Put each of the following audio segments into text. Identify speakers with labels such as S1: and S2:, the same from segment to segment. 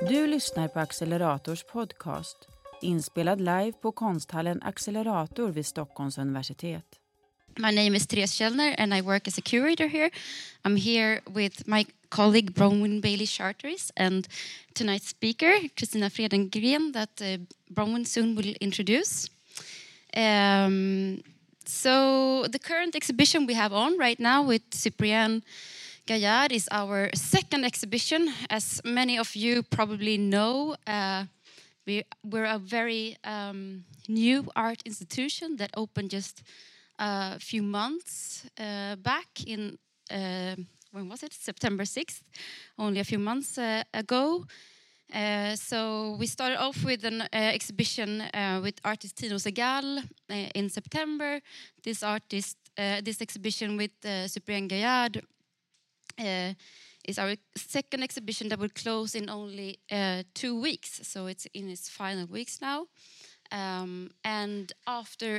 S1: Du lyssnar på Accelerators podcast, inspelad live på konsthallen Accelerator vid Stockholms universitet.
S2: My name is Therese Källner and I work as a curator here. I'm here with my colleague Bronwyn Bailey Charteris and tonight's speaker, Kristina Fredengren, that Bronwyn soon will introduce. So the current exhibition we have on right now with Cyprien Gaillard is our second exhibition. As many of you probably know, we're a very new art institution that opened just a few months back in, when was it? September 6th, only a few months ago. So we started off with an exhibition with artist Tino Segal in September. This exhibition with Cyprien Gaillard is our second exhibition that will close in only 2 weeks. So it's in its final weeks now. And after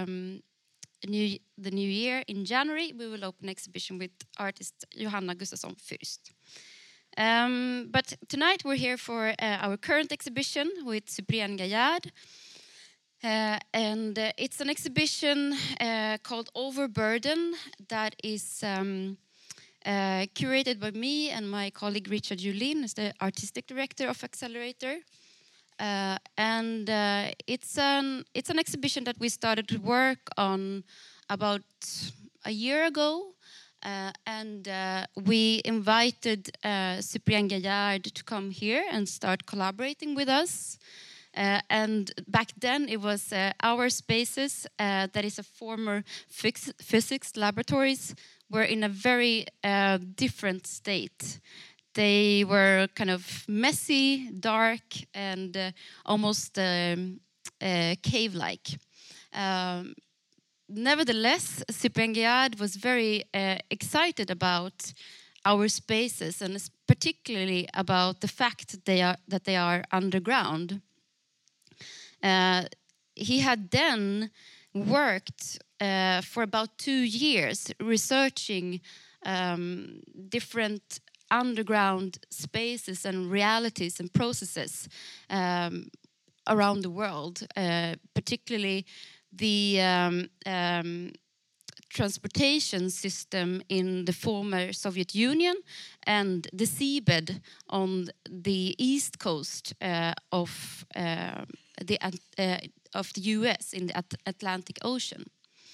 S2: the new year in January, we will open an exhibition with artist Johanna Gustafsson Fürst. But tonight we're here for our current exhibition with Cyprien Gaillard. And it's an exhibition called Overburden that is curated by me and my colleague Richard Julin, as the artistic director of Accelerator. And it's an exhibition that we started to work on about a year ago. And we invited Cyprien Gaillard to come here and start collaborating with us. And back then it was our spaces, that is a former physics laboratories, were in a very different state. They were kind of messy, dark, and almost cave-like. Nevertheless, Cyprien Gaillard was very excited about our spaces, and particularly about the fact that they are underground. He had then worked for about 2 years researching different underground spaces and realities and processes around the world, particularly the transportation system in the former Soviet Union and the seabed on the east coast of the US in the Atlantic Ocean.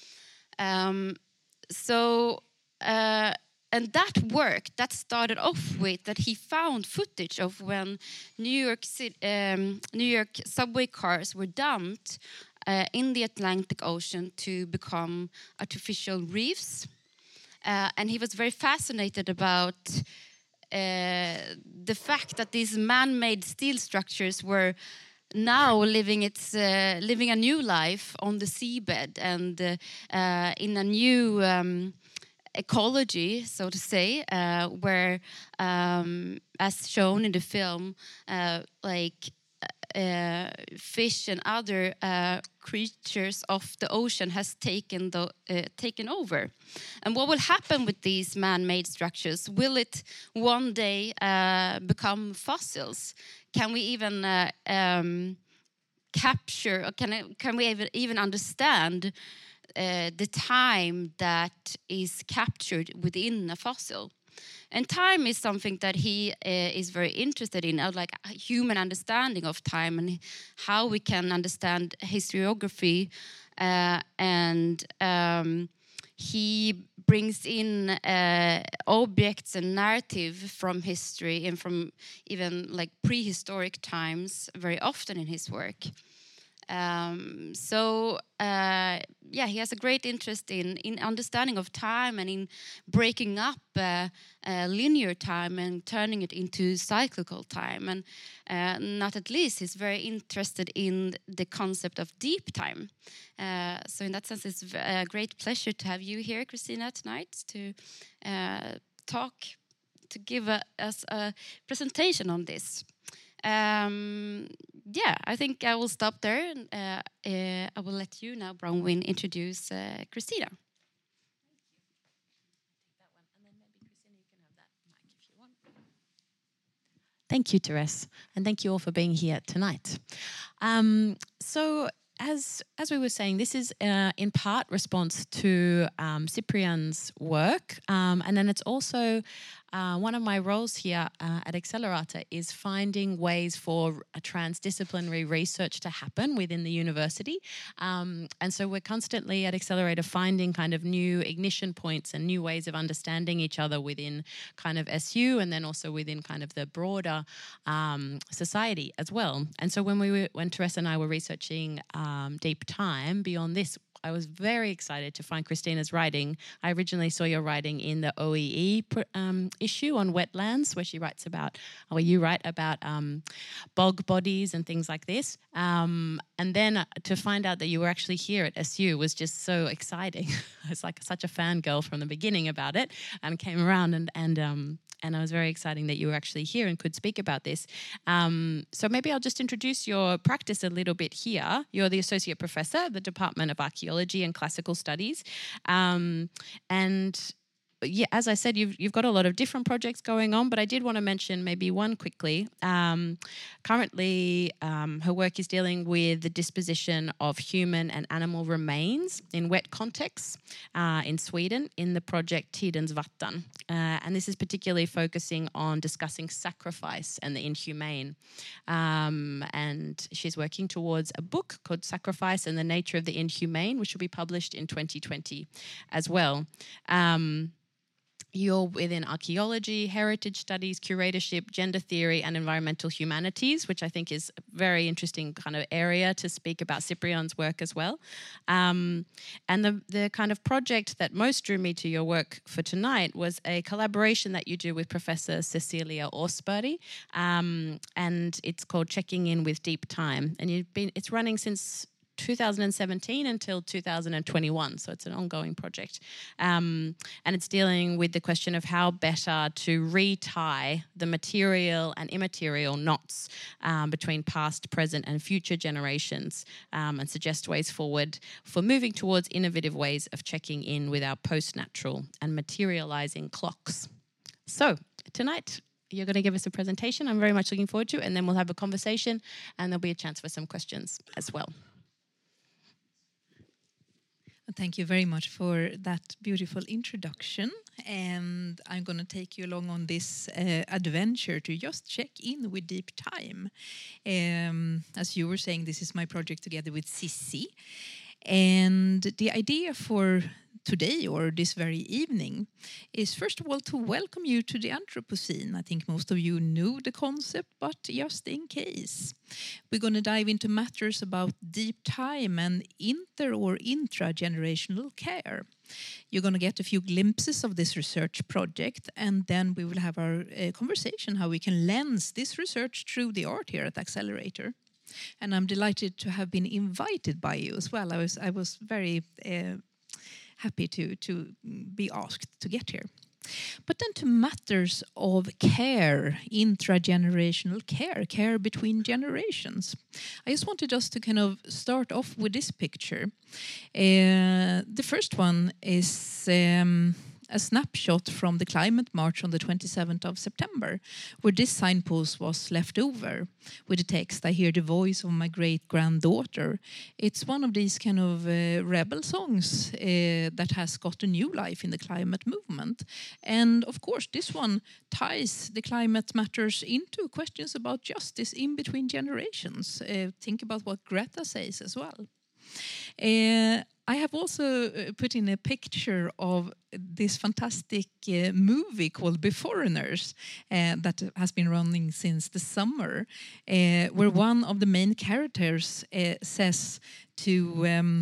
S2: And that work that started off with that he found footage of when New York subway cars were dumped in the Atlantic Ocean to become artificial reefs. And he was very fascinated about the fact that these man-made steel structures were now living a new life on the seabed and in a new ecology, so to say, where, as shown in the film, fish and other creatures of the ocean has taken over. And what will happen with these man-made structures? Will it one day become fossils? Can we even capture, or can we even understand the time that is captured within a fossil? And time is something that he is very interested in, like a human understanding of time and how we can understand historiography. And he brings in objects and narrative from history and from even like prehistoric times very often in his work. He has a great interest in understanding of time and in breaking up linear time and turning it into cyclical time. And not at least, he's very interested in the concept of deep time. So in that sense, it's a great pleasure to have you here, Kristina, tonight to give us a presentation on this. I think I will stop there. I will let you now, Bronwyn, introduce Kristina.
S3: Thank you, Therese, and thank you all for being here tonight. So, as we were saying, this is in part response to Cyprian's work, and then it's also one of my roles here at Accelerator is finding ways for a transdisciplinary research to happen within the university. And so we're constantly at Accelerator finding kind of new ignition points and new ways of understanding each other within kind of SU and then also within kind of the broader society as well. And so when Therese and I were researching Deep Time beyond this, I was very excited to find Christina's writing. I originally saw your writing in the OEE issue on wetlands, where you write about bog bodies and things like this. And then to find out that you were actually here at SU was just so exciting. I was like such a fangirl from the beginning about it, and came around and I was very excited that you were actually here and could speak about this. So maybe I'll just introduce your practice a little bit here. You're the Associate Professor at the Department of Archaeology and Classical Studies. And yeah, as I said, you've got a lot of different projects going on, but I did want to mention maybe one quickly. Currently, her work is dealing with the disposition of human and animal remains in wet contexts in Sweden in the project Tidens vatten. And this is particularly focusing on discussing sacrifice and the inhumane. And she's working towards a book called Sacrifice and the Nature of the Inhumane, which will be published in 2020 as well. You're within archaeology, heritage studies, curatorship, gender theory, and environmental humanities, which I think is a very interesting kind of area to speak about Cyprian's work as well. And the kind of project that most drew me to your work for tonight was a collaboration that you do with Professor Cecilia Åsberg, and it's called Checking In with Deep Time. And it's running since 2017 until 2021, so it's an ongoing project. And it's dealing with the question of how better to retie the material and immaterial knots between past, present and future generations, and suggest ways forward for moving towards innovative ways of checking in with our post-natural and materializing clocks. So tonight, you're going to give us a presentation I'm very much looking forward to, and then we'll have a conversation and there'll be a chance for some questions as well.
S4: Thank you very much for that beautiful introduction, and I'm going to take you along on this adventure to just check in with Deep Time. As you were saying, this is my project together with Sissi, and the idea for today or this very evening is first of all to welcome you to the Anthropocene. I think most of you knew the concept, but just in case. We're going to dive into matters about deep time and inter- or intra-generational care. You're going to get a few glimpses of this research project, and then we will have our conversation how we can lens this research through the art here at Accelerator. And I'm delighted to have been invited by you as well. I was very happy to be asked to get here. But then to matters of care, intragenerational care between generations. I just wanted us to kind of start off with this picture. The first one is a snapshot from the climate march on the 27th of September, where this signpost was left over with the text, "I hear the voice of my great-granddaughter." It's one of these kind of rebel songs that has got a new life in the climate movement. And of course, this one ties the climate matters into questions about justice in between generations. Think about what Greta says as well. I have also put in a picture of this fantastic movie called Beforeigners that has been running since the summer, where one of the main characters says to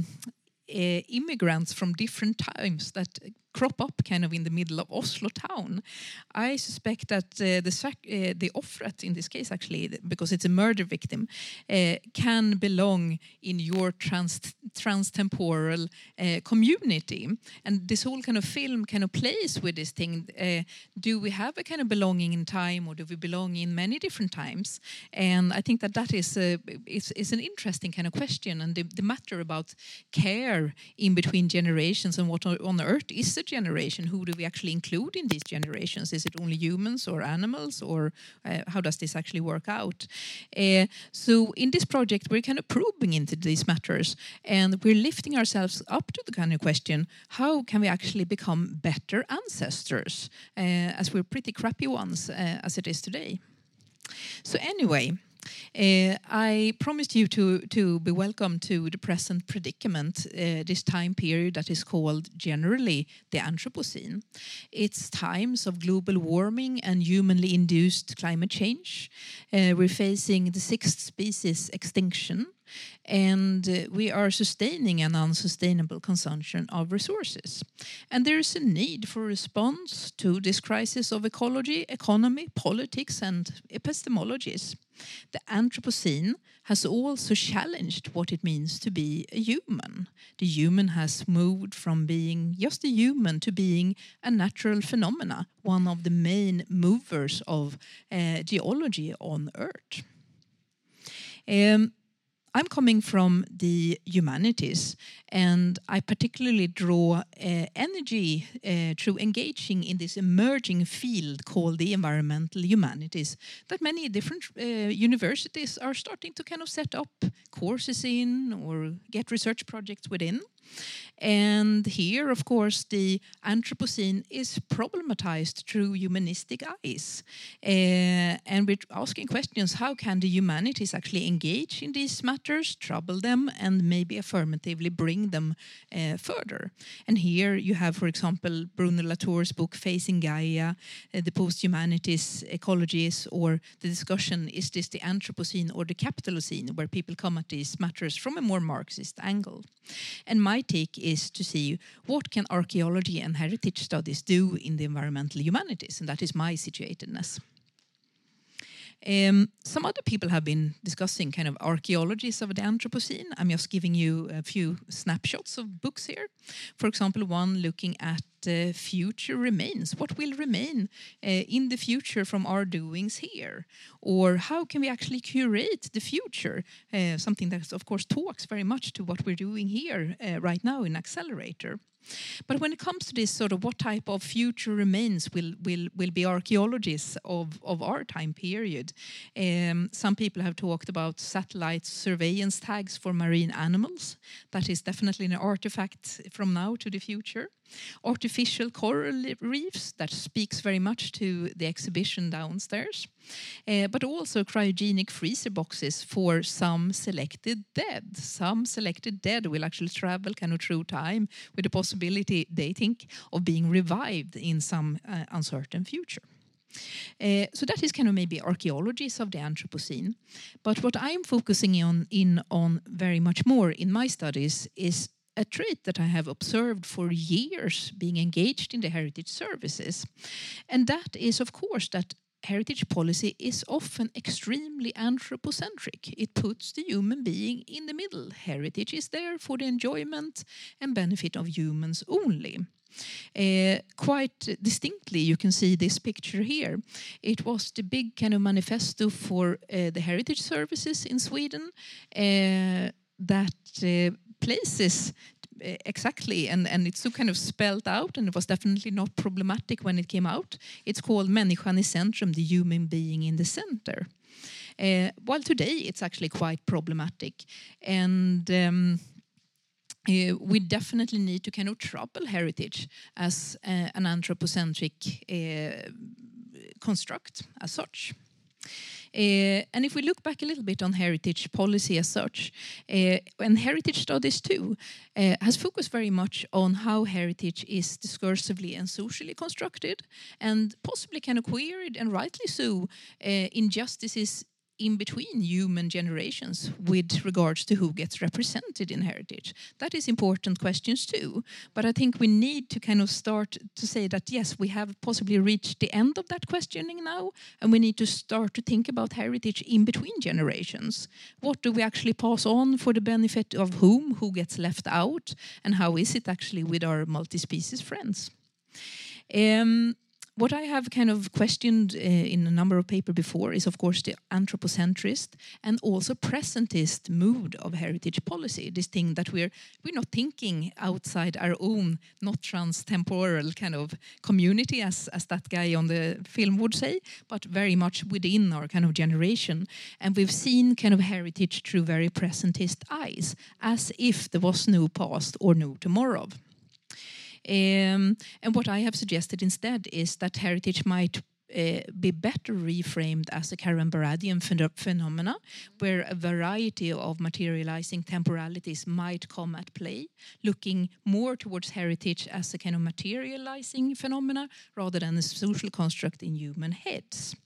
S4: immigrants from different times that crop up kind of in the middle of Oslo town. I suspect that the offret in this case, actually, because it's a murder victim, can belong in your transtemporal community. And this whole kind of film kind of plays with this thing. Do we have a kind of belonging in time, or do we belong in many different times? And I think that is an interesting kind of question. And the matter about care in between generations and what on earth is a generation, who do we actually include in these generations? Is it only humans or animals, or how does this actually work out? So in this project, we're kind of probing into these matters, and we're lifting ourselves up to the kind of question, how can we actually become better ancestors, as we're pretty crappy ones as it is today? So anyway, I promised you to be welcome to the present predicament, this time period that is called generally the Anthropocene. It's times of global warming and humanly induced climate change. We're facing the 6th species extinction, and we are sustaining an unsustainable consumption of resources. And there is a need for a response to this crisis of ecology, economy, politics, and epistemologies. The Anthropocene has also challenged what it means to be a human. The human has moved from being just a human to being a natural phenomena, one of the main movers of geology on Earth. I'm coming from the humanities, and I particularly draw energy through engaging in this emerging field called the environmental humanities that many different universities are starting to kind of set up courses in or get research projects within. And here, of course, the Anthropocene is problematized through humanistic eyes. And we're asking questions, how can the humanities actually engage in these matters, trouble them, and maybe affirmatively bring them further? And here you have, for example, Bruno Latour's book, Facing Gaia, the post-humanities ecologies, or the discussion, is this the Anthropocene or the Capitalocene, where people come at these matters from a more Marxist angle. And my take is to see what can archaeology and heritage studies do in the environmental humanities, and that is my situatedness. Some other people have been discussing kind of archaeologies of the Anthropocene. I'm just giving you a few snapshots of books here. For example, one looking at future remains. What will remain in the future from our doings here? Or how can we actually curate the future? Something that, of course, talks very much to what we're doing here right now in Accelerator. But when it comes to this sort of what type of future remains will be archaeologies of our time period, some people have talked about satellite surveillance tags for marine animals. That is definitely an artifact from now to the future. Artificial coral reefs, that speaks very much to the exhibition downstairs. But also cryogenic freezer boxes for some selected dead. Some selected dead will actually travel kind of through time with the possibility, they think, of being revived in some uncertain future. So that is kind of maybe archaeologies of the Anthropocene. But what I'm focusing on very much more in my studies is a trait that I have observed for years being engaged in the heritage services. And that is, of course, that heritage policy is often extremely anthropocentric. It puts the human being in the middle. Heritage is there for the enjoyment and benefit of humans only. Quite distinctly, you can see this picture here. It was the big kind of manifesto for the heritage services in Sweden that places exactly, and it's so kind of spelled out, and it was definitely not problematic when it came out. It's called Människan i centrum, the human being in the center. While today it's actually quite problematic, and we definitely need to kind of trouble heritage as an anthropocentric construct as such. And if we look back a little bit on heritage policy as such, and heritage studies too, has focused very much on how heritage is discursively and socially constructed, and possibly kind of queried, and rightly so, injustices in between human generations with regards to who gets represented in heritage. That is important questions too. But I think we need to kind of start to say that, yes, we have possibly reached the end of that questioning now, and we need to start to think about heritage in between generations. What do we actually pass on for the benefit of whom, who gets left out, and how is it actually with our multi-species friends? What I have kind of questioned in a number of papers before is, of course, the anthropocentrist and also presentist mood of heritage policy. This thing that we're not thinking outside our own, not trans-temporal kind of community, as that guy on the film would say, but very much within our kind of generation. And we've seen kind of heritage through very presentist eyes, as if there was no past or no tomorrow. And what I have suggested instead is that heritage might be better reframed as a Karen Baradian phenomena, where a variety of materializing temporalities might come at play, looking more towards heritage as a kind of materializing phenomena rather than a social construct in human heads.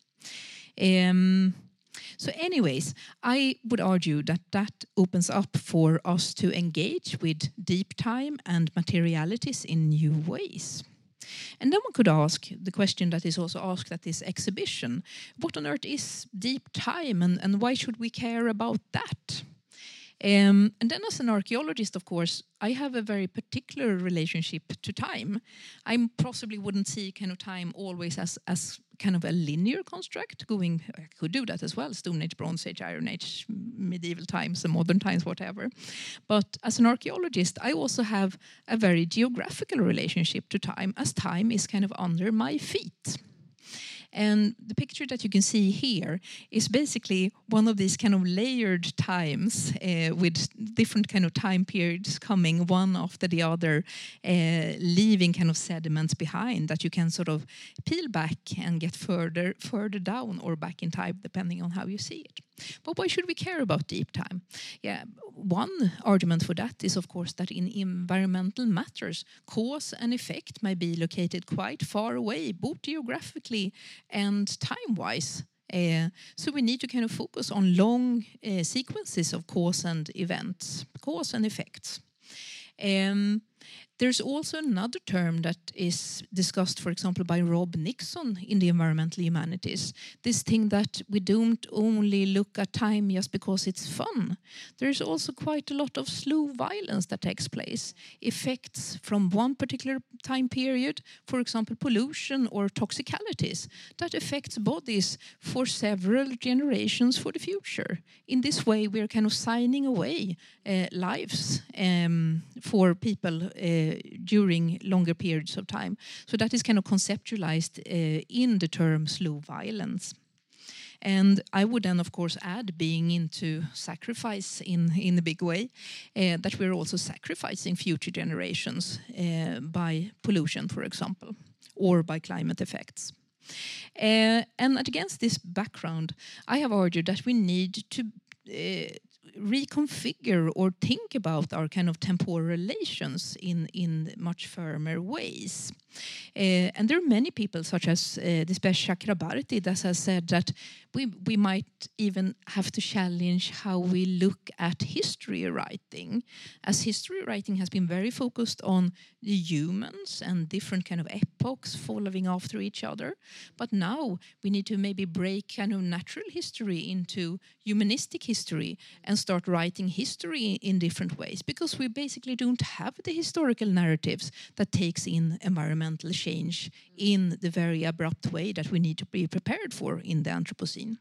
S4: So anyways, I would argue that opens up for us to engage with deep time and materialities in new ways. And then one could ask the question that is also asked at this exhibition: what on earth is deep time, and why should we care about that? And then as an archaeologist, of course, I have a very particular relationship to time. I possibly wouldn't see kind of time always as kind of a linear construct going. I could do that as well: Stone Age, Bronze Age, Iron Age, medieval times, and modern times, whatever. But as an archaeologist, I also have a very geographical relationship to time, as time is kind of under my feet. And the picture that you can see here is basically one of these kind of layered times with different kind of time periods coming one after the other, leaving kind of sediments behind that you can sort of peel back and get further down or back in time, depending on how you see it. But why should we care about deep time? Yeah, one argument for that is, of course, that in environmental matters, cause and effect may be located quite far away, both geographically and time-wise. So we need to kind of focus on long sequences of cause and events, cause and effects. There's also another term that is discussed, for example, by Rob Nixon in the environmental humanities. This thing that we don't only look at time just because it's fun. There's also quite a lot of slow violence that takes place. Effects from one particular time period, for example, pollution or toxicalities, that affects bodies for several generations for the future. In this way, we're kind of signing away lives for people during longer periods of time. So that is kind of conceptualized in the term slow violence. And I would then, of course, add being into sacrifice in a big way, that we're also sacrificing future generations by pollution, for example, or by climate effects. And against this background, I have argued that we need to reconfigure or think about our kind of temporal relations in much firmer ways. And there are many people, such as Dispesh Chakrabarti, that has said that we might even have to challenge how we look at history writing, as history writing has been very focused on the humans and different kind of epochs following after each other. But now we need to maybe break kind of natural history into humanistic history and start writing history in different ways, because we basically don't have the historical narratives that takes in environmental change in the very abrupt way that we need to be prepared for in the Anthropocene.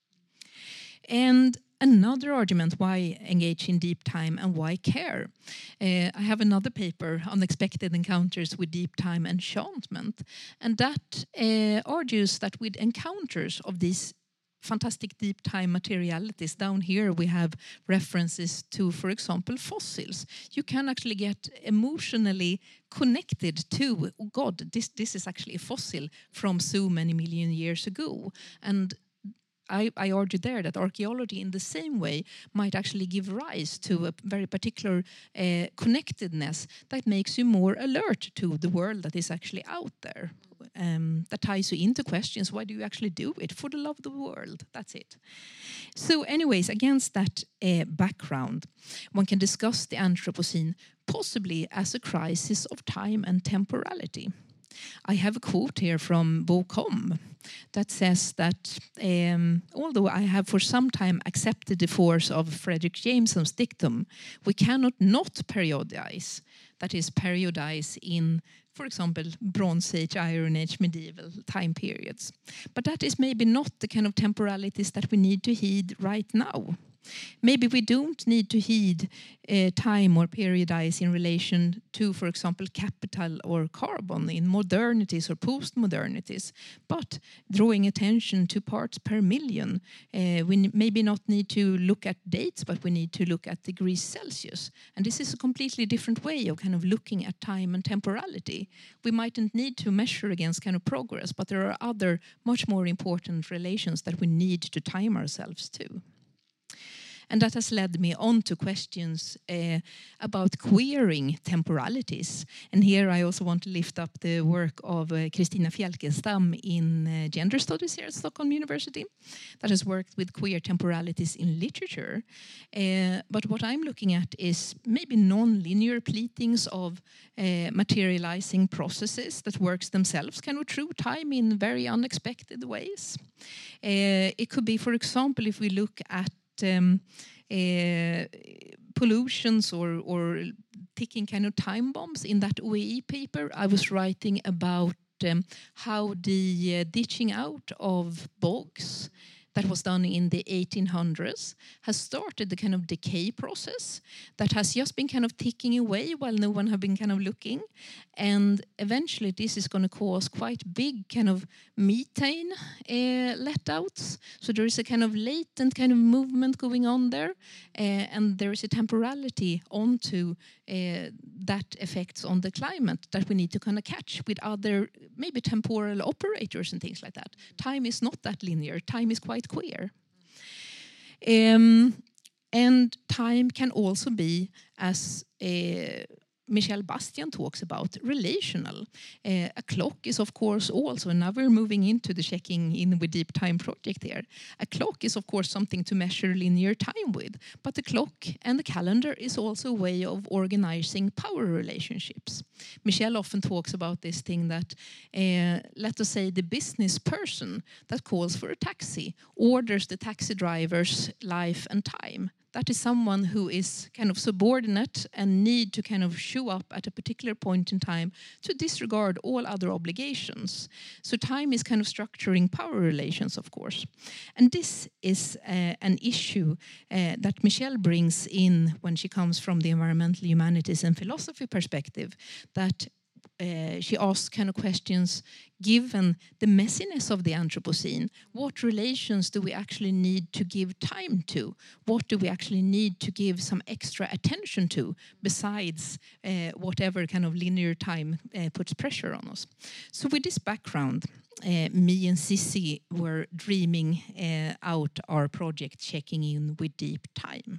S4: And another argument why engage in deep time and why care. I have another paper, Unexpected Encounters with Deep Time Enchantment, and that argues that with encounters of these fantastic deep time materialities. Down here we have references to, for example, fossils. You can actually get emotionally connected to, oh God, this is actually a fossil from so many million years ago. And I argue there that archaeology in the same way might actually give rise to a very particular connectedness that makes you more alert to the world that is actually out there. That ties you into questions, why do you actually do it? For the love of the world, that's it. So anyways, against that background, one can discuss the Anthropocene possibly as a crisis of time and temporality. I have a quote here from Bo Com that says that although I have for some time accepted the force of Frederick Jameson's dictum, we cannot not periodize, that is periodize in for example, Bronze Age, Iron Age, medieval time periods. But that is maybe not the kind of temporalities that we need to heed right now. Maybe we don't need to heed time or periodize in relation to, for example, capital or carbon in modernities or post-modernities, but drawing attention to parts per million. We maybe not need to look at dates, but we need to look at degrees Celsius. And this is a completely different way of kind of looking at time and temporality. We mightn't need to measure against kind of progress, but there are other much more important relations that we need to time ourselves to. And that has led me on to questions about queering temporalities. And here I also want to lift up the work of Kristina Fjälkenstam in Gender Studies here at Stockholm University that has worked with queer temporalities in literature. But what I'm looking at is maybe non-linear pleatings of materializing processes that works themselves kind of through time in very unexpected ways. It could be, for example, if we look at pollutions or ticking kind of time bombs. In that OEE paper, I was writing about how the ditching out of bogs that was done in the 1800s has started the kind of decay process that has just been kind of ticking away while no one have been kind of looking. And eventually this is going to cause quite big kind of methane letouts. So there is a kind of latent kind of movement going on there. And there is a temporality onto that effects on the climate that we need to kind of catch with other maybe temporal operators and things like that. Time is not that linear. Time is quite queer. And time can also be, as Michel Bastian talks about, relational. A clock is, of course, also, and now we're moving into the Checking In with Deep Time project here. A clock is, of course, something to measure linear time with, but the clock and the calendar is also a way of organizing power relationships. Michel often talks about this thing that, let us say, the business person that calls for a taxi orders the taxi driver's life and time. That is someone who is kind of subordinate and need to kind of show up at a particular point in time to disregard all other obligations. So time is kind of structuring power relations, of course. And this is an issue that Michelle brings in when she comes from the environmental humanities and philosophy perspective, that she asks kind of questions, given the messiness of the Anthropocene, what relations do we actually need to give time to? What do we actually need to give some extra attention to besides whatever kind of linear time puts pressure on us? So with this background, me and Sissi were dreaming out our project Checking In with Deep Time.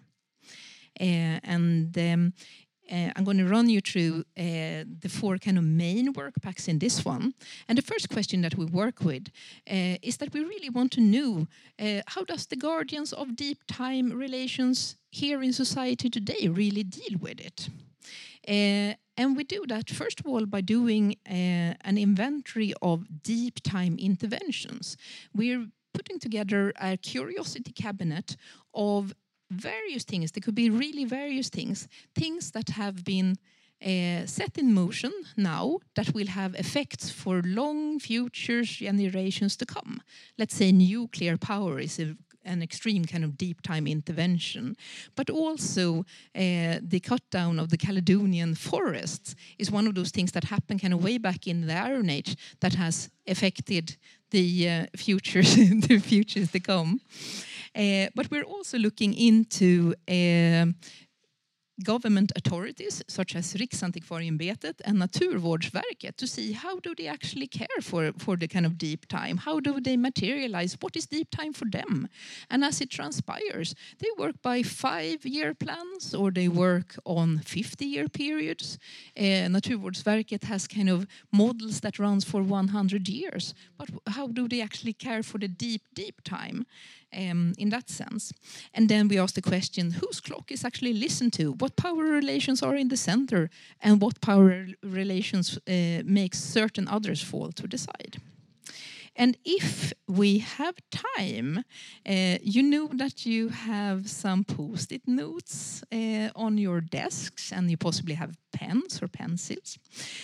S4: I'm going to run you through the four kind of main work packs in this one. And the first question that we work with is that we really want to know how does the guardians of deep time relations here in society today really deal with it? And we do that, first of all, by doing an inventory of deep time interventions. We're putting together a curiosity cabinet of various things. There could be really various things that have been set in motion now that will have effects for long future generations to come. Let's say nuclear power is an extreme kind of deep time intervention, but also the cut down of the Caledonian forests is one of those things that happened kind of way back in the Iron Age that has affected the futures to come. But we're also looking into government authorities such as Riksantikvarieämbetet and Naturvårdsverket to see how do they actually care for the kind of deep time? How do they materialize? What is deep time for them? And as it transpires, they work by 5-year plans or they work on 50-year periods. Naturvårdsverket has kind of models that runs for 100 years. But how do they actually care for the deep time? In that sense. And then we ask the question, whose clock is actually listened to? What power relations are in the center? And what power relations makes certain others fall to the side? And if we have time, you know that you have some post-it notes on your desks, and you possibly have pens or pencils.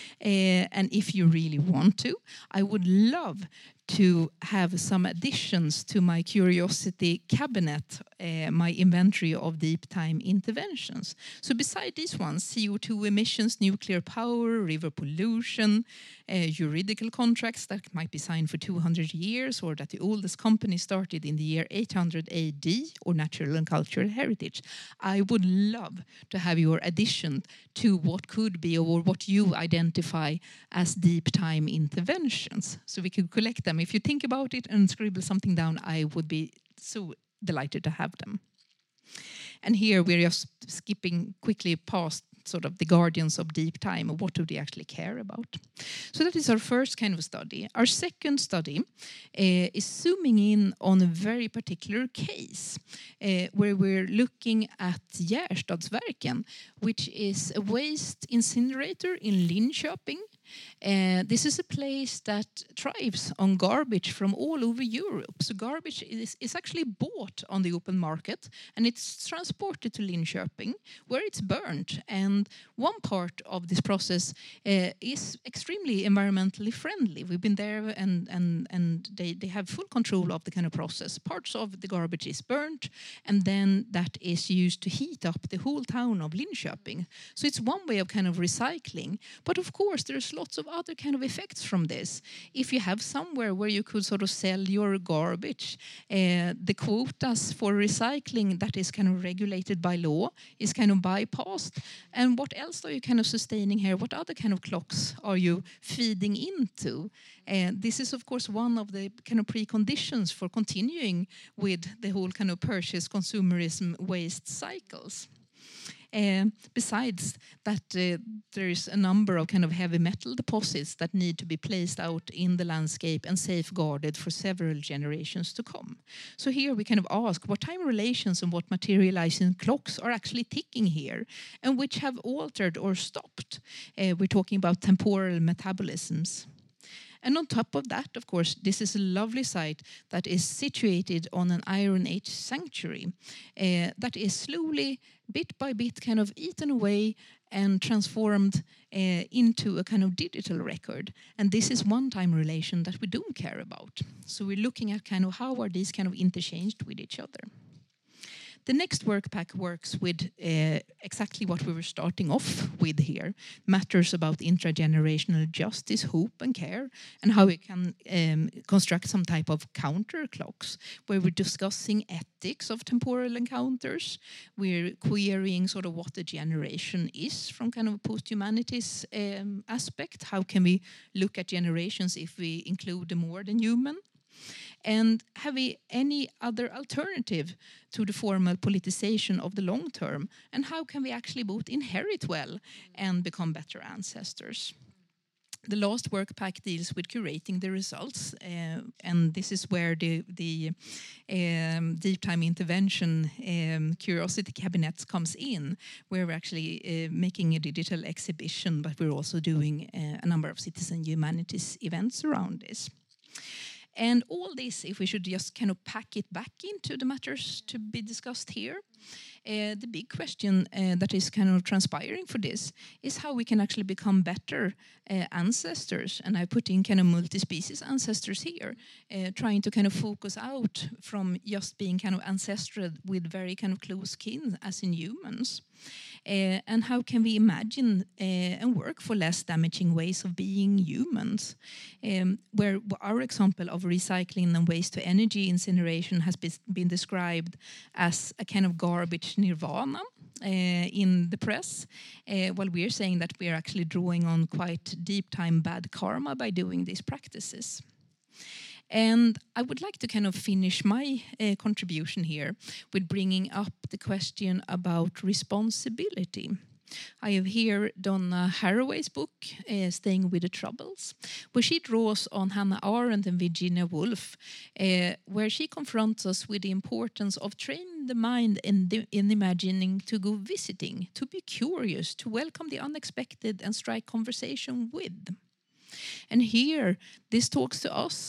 S4: And if you really want to, I would love to have some additions to my curiosity cabinet, my inventory of deep time interventions. So beside these ones, CO2 emissions, nuclear power, river pollution, juridical contracts that might be signed for 200 years, or that the oldest company started in the year 800 AD, or natural and cultural heritage, I would love to have your addition to what could be, or what you identify as deep time interventions. So we could collect them. If you think about it and scribble something down, I would be so delighted to have them. And here we're just skipping quickly past sort of the guardians of deep time, or what do they actually care about. So that is our first kind of study. Our second study is zooming in on a very particular case where we're looking at Gärstadsverken, which is a waste incinerator in Linköping. This is a place that thrives on garbage from all over Europe. So garbage is actually bought on the open market, and it's transported to Linköping, where it's burned. And one part of this process is extremely environmentally friendly. We've been there, and they have full control of the kind of process. Parts of the garbage is burnt, and then that is used to heat up the whole town of Linköping. So it's one way of kind of recycling. But of course, there's lots of other kind of effects from this. If you have somewhere where you could sort of sell your garbage, the quotas for recycling that is kind of regulated by law is kind of bypassed. And what else are you kind of sustaining here? What other kind of clocks are you feeding into? This is, of course, one of the kind of preconditions for continuing with the whole kind of purchase consumerism waste cycles. Besides that, there is a number of kind of heavy metal deposits that need to be placed out in the landscape and safeguarded for several generations to come. So here we kind of ask what time relations and what materializing clocks are actually ticking here, and which have altered or stopped. We're talking about temporal metabolisms. And on top of that, of course, this is a lovely site that is situated on an Iron Age sanctuary that is slowly, bit by bit, kind of eaten away and transformed into a kind of digital record. And this is one-time relation that we don't care about. So we're looking at kind of how are these kind of interchanged with each other. The next workpack works with exactly what we were starting off with here, matters about intragenerational justice, hope and care, and how we can construct some type of counter clocks, where we're discussing ethics of temporal encounters. We're querying sort of what the generation is from kind of a post-humanities aspect. How can we look at generations if we include the more than human? And have we any other alternative to the formal politicization of the long term? And how can we actually both inherit well and become better ancestors? The last work pack deals with curating the results, and this is where the deep time intervention curiosity cabinets comes in, where we're actually making a digital exhibition, but we're also doing a number of citizen humanities events around this. And all this, if we should just kind of pack it back into the matters to be discussed here, the big question that is kind of transpiring for this is how we can actually become better ancestors. And I put in kind of multi-species ancestors here, trying to kind of focus out from just being kind of ancestral with very kind of close kin as in humans. And how can we imagine and work for less damaging ways of being humans, where our example of recycling and waste to energy incineration has been described as a kind of garbage nirvana in the press, while we're saying that we're actually drawing on quite deep time bad karma by doing these practices. And I would like to kind of finish my contribution here with bringing up the question about responsibility. I have here Donna Haraway's book, Staying with the Troubles, where she draws on Hannah Arendt and Virginia Woolf, where she confronts us with the importance of training the mind in imagining to go visiting, to be curious, to welcome the unexpected and strike conversation with. And here, this talks to us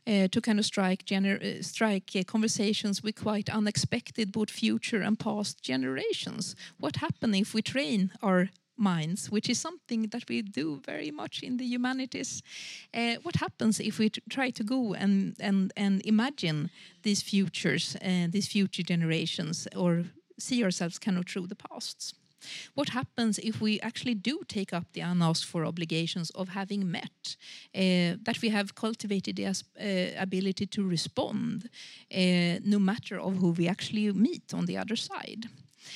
S4: to kind of strike conversations with quite unexpected both future and past generations. What happens if we train our minds, which is something that we do very much in the humanities? What happens if we try to go and imagine these futures and these future generations, or see ourselves kind of through the pasts? What happens if we actually do take up the unasked for obligations of having met, that we have cultivated the ability to respond, no matter of who we actually meet on the other side?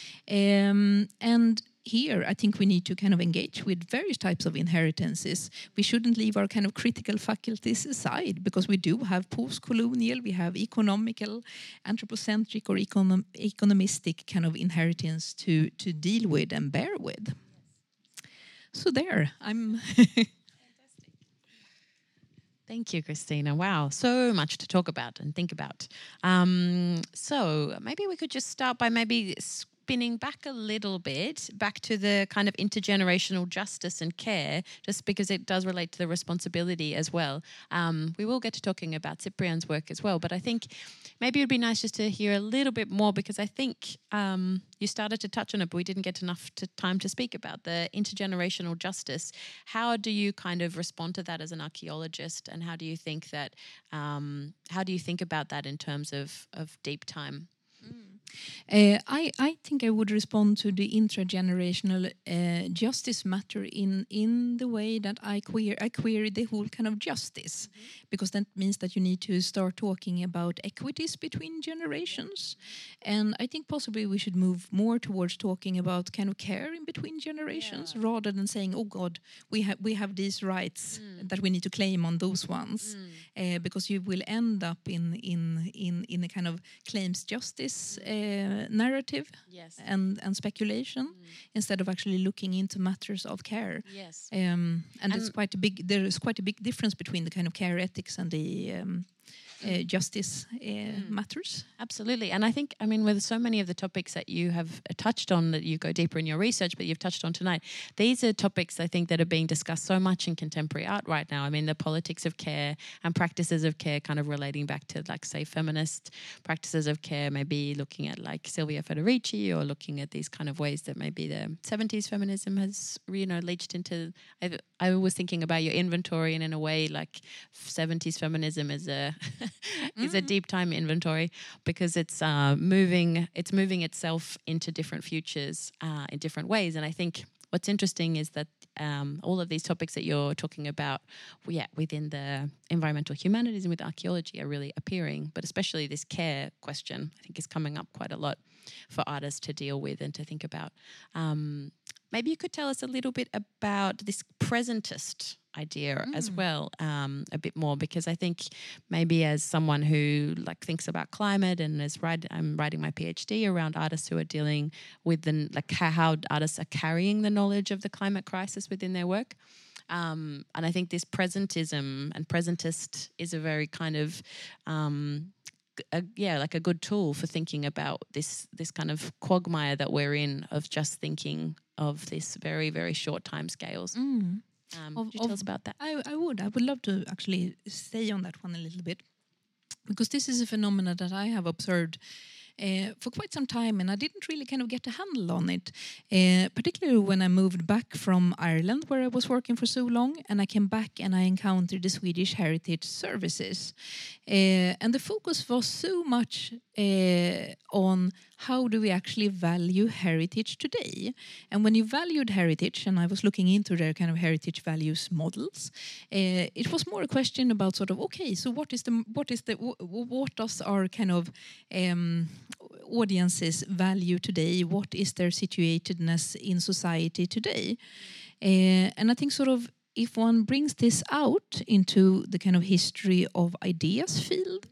S4: And here, I think we need to kind of engage with various types of inheritances. We shouldn't leave our kind of critical faculties aside, because we do have post-colonial, we have economical, anthropocentric or economistic kind of inheritance to deal with and bear with. So there, I'm...
S3: Thank you, Christina. Wow, so much to talk about and think about. So maybe we could just start by maybe spinning back a little bit, back to the kind of intergenerational justice and care, just because it does relate to the responsibility as well. We will get to talking about Cyprian's work as well, but I think maybe it would be nice just to hear a little bit more, because I think you started to touch on it, but we didn't get enough time to speak about the intergenerational justice. How do you kind of respond to that as an archaeologist, and how do you think that, how do you think about that in terms of deep time?
S4: I think I would respond to the intragenerational justice matter in the way that I query the whole kind of justice, because that means that you need to start talking about equities between generations, and I think possibly we should move more towards talking about kind of care in between generations, rather than saying, oh God, we have these rights that we need to claim on those ones, because you will end up in a kind of claims justice narrative, and speculation, instead of actually looking into matters of care. And it's there is quite a big difference between the kind of care ethics and the justice matters.
S3: Absolutely. And I think, I mean, with so many of the topics that you have touched on, that you go deeper in your research, but you've touched on tonight, these are topics I think that are being discussed so much in contemporary art right now. I mean, the politics of care and practices of care, kind of relating back to, like, say, feminist practices of care, maybe looking at like Silvia Federici, or looking at these kind of ways that maybe the 70s feminism has, leached into. I was thinking about your inventory, and in a way, like 70s feminism is a is a deep time inventory, because it's moving itself into different futures in different ways. And I think what's interesting is that all of these topics that you're talking about, within the environmental humanities and with archaeology, are really appearing, but especially this care question, I think, is coming up quite a lot for artists to deal with and to think about. Maybe you could tell us a little bit about this presentist idea as well, a bit more, because I think maybe as someone who like thinks about climate and I'm writing my PhD around artists who are dealing with how artists are carrying the knowledge of the climate crisis within their work. And I think this presentism and presentist is a very kind of like a good tool for thinking about this kind of quagmire that we're in, of just thinking of this very, very short time scales. Could you tell us about that?
S4: I would love to actually stay on that one a little bit, because this is a phenomenon that I have observed for quite some time, and I didn't really kind of get a handle on it, particularly when I moved back from Ireland, where I was working for so long, and I came back and I encountered the Swedish Heritage Services, and the focus was so much on how do we actually value heritage today. And when you valued heritage, and I was looking into their kind of heritage values models, it was more a question about sort of, okay, so what does our kind of audiences value today? What is their situatedness in society today? And I think sort of, if one brings this out into the kind of history of ideas field,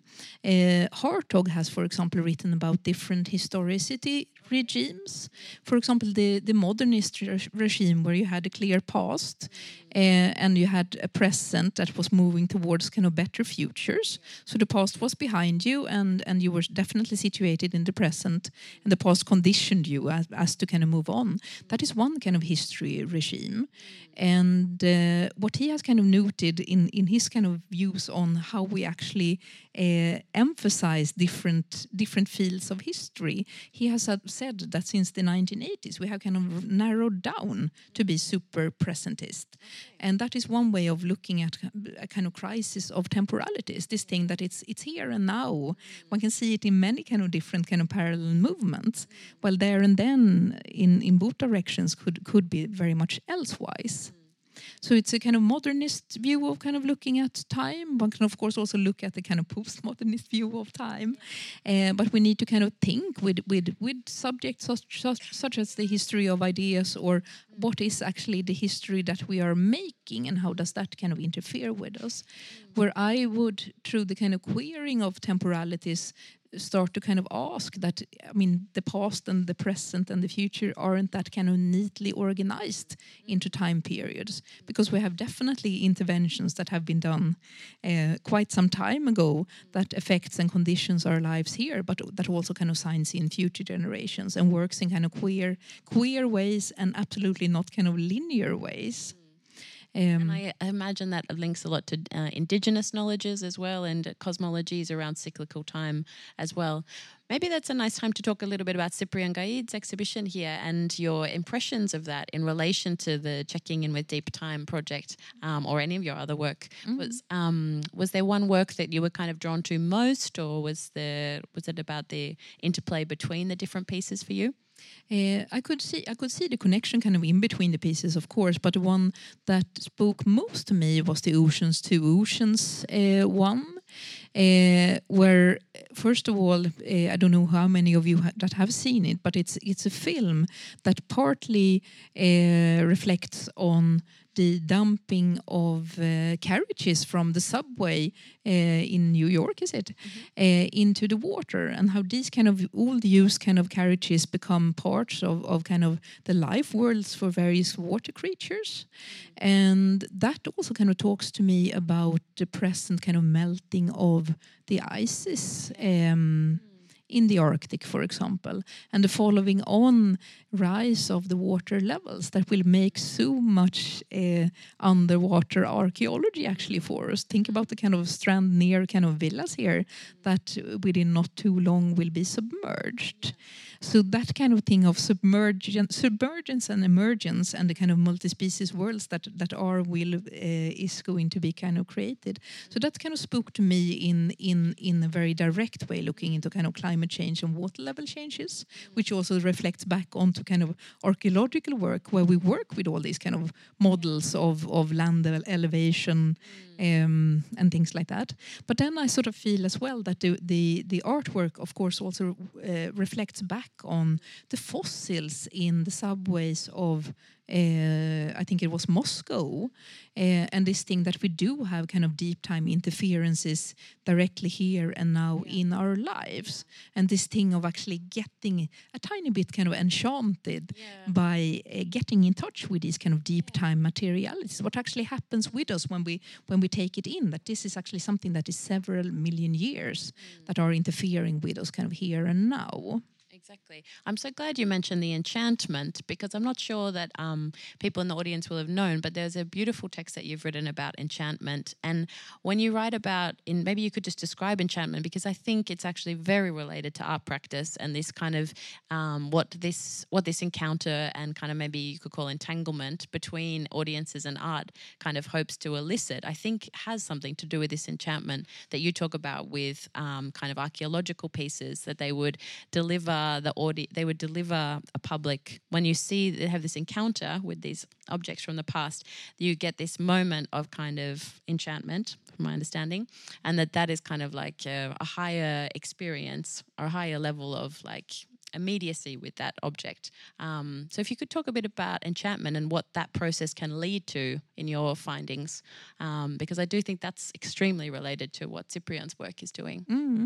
S4: Hartog has, for example, written about different historicity regimes. For example, the modernist regime, where you had a clear past and you had a present that was moving towards kind of better futures. So the past was behind you, and you were definitely situated in the present, and the past conditioned you as to kind of move on. That is one kind of history regime. And what he has kind of noted in his kind of views on how we actually emphasize different fields of history, he has said that since the 1980s we have kind of narrowed down to be super presentist. And that is one way of looking at a kind of crisis of temporalities, this thing that it's here and now. One can see it in many kind of different kind of parallel movements, while there and then in both directions could be very much elsewise. So it's a kind of modernist view of kind of looking at time. One can, of course, also look at the kind of postmodernist view of time. But we need to kind of think with subjects such as the history of ideas, or what is actually the history that we are making, and how does that kind of interfere with us. Where I would, through the kind of queering of temporalities, start to kind of ask that, I mean, the past and the present and the future aren't that kind of neatly organized into time periods, because we have definitely interventions that have been done quite some time ago that affects and conditions our lives here, but that also kind of signs in future generations and works in kind of queer ways, and absolutely not kind of linear ways.
S3: And I imagine that links a lot to indigenous knowledges as well, and cosmologies around cyclical time as well. Maybe that's a nice time to talk a little bit about Cyprien Gaid's exhibition here and your impressions of that in relation to the Checking In with Deep Time project, or any of your other work. Was there one work that you were kind of drawn to most, or was it about the interplay between the different pieces for you?
S4: I could see the connection kind of in between the pieces, of course, but the one that spoke most to me was the Oceans to Oceans one, where, first of all, I don't know how many of you that have seen it, but it's a film that partly reflects on the dumping of carriages from the subway in New York, is it, into the water, and how these kind of old used kind of carriages become parts of kind of the life worlds for various water creatures. And that also kind of talks to me about the present kind of melting of the ices in the Arctic, for example, and the following on rise of the water levels that will make so much underwater archaeology actually for us. Think about the kind of strand near kind of villas here that within not too long will be submerged. So that kind of thing of submergence and emergence, and the kind of multi-species worlds that is going to be kind of created. So that kind of spoke to me in a very direct way, looking into kind of climate change and water level changes, which also reflects back onto kind of archaeological work, where we work with all these kind of models of land elevation and things like that. But then I sort of feel as well that the artwork, of course, also reflects back on the fossils in the subways of I think it was Moscow, and this thing that we do have kind of deep time interferences directly here and now in our lives, and this thing of actually getting a tiny bit kind of enchanted by getting in touch with these kind of deep time materialities. What actually happens with us when we take it in, that this is actually something that is several million years that are interfering with us kind of here and now.
S3: Exactly. I'm so glad you mentioned the enchantment, because I'm not sure that people in the audience will have known, but there's a beautiful text that you've written about enchantment. And when you write about, maybe you could just describe enchantment, because I think it's actually very related to art practice and this kind of what this encounter and kind of maybe you could call entanglement between audiences and art kind of hopes to elicit, I think has something to do with this enchantment that you talk about with kind of archaeological pieces that they would deliver they would deliver a public. When you see they have this encounter with these objects from the past, you get this moment of kind of enchantment, from my understanding, and that is kind of like a higher experience or a higher level of like immediacy with that object. So if you could talk a bit about enchantment and what that process can lead to in your findings, because I do think that's extremely related to what Cyprian's work is doing.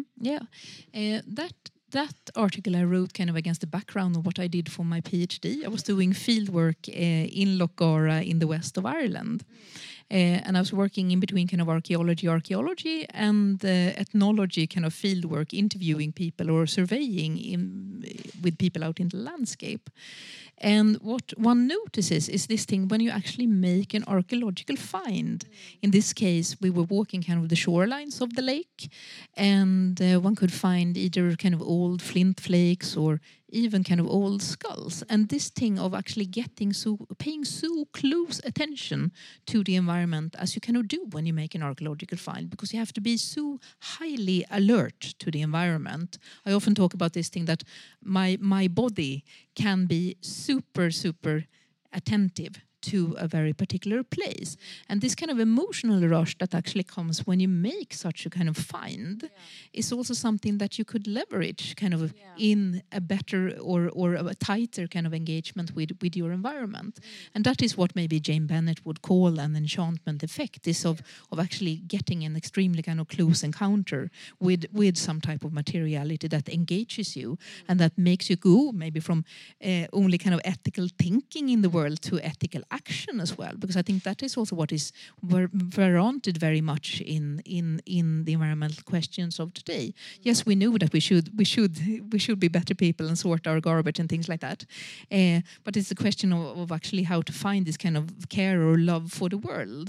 S4: That article I wrote kind of against the background of what I did for my PhD. I was doing fieldwork in Lochgara in the west of Ireland. And I was working in between kind of archaeology and ethnology kind of fieldwork, interviewing people or surveying with people out in the landscape. And what one notices is this thing when you actually make an archaeological find. In this case, we were walking kind of the shorelines of the lake, and one could find either kind of old flint flakes or even kind of old skulls. And this thing of actually paying so close attention to the environment as you kind of do when you make an archaeological find, because you have to be so highly alert to the environment. I often talk about this thing that my body can be super attentive to a very particular place. And this kind of emotional rush that actually comes when you make such a kind of find is also something that you could leverage kind of in a better or a tighter kind of engagement with your environment. And that is what maybe Jane Bennett would call an enchantment effect, is of actually getting an extremely kind of close encounter with some type of materiality that engages you and that makes you go maybe from only kind of ethical thinking in the world to ethical action as well, because I think that is also what is warranted very much in the environmental questions of today. Yes, we know that we should be better people and sort our garbage and things like that, but it's a question of actually how to find this kind of care or love for the world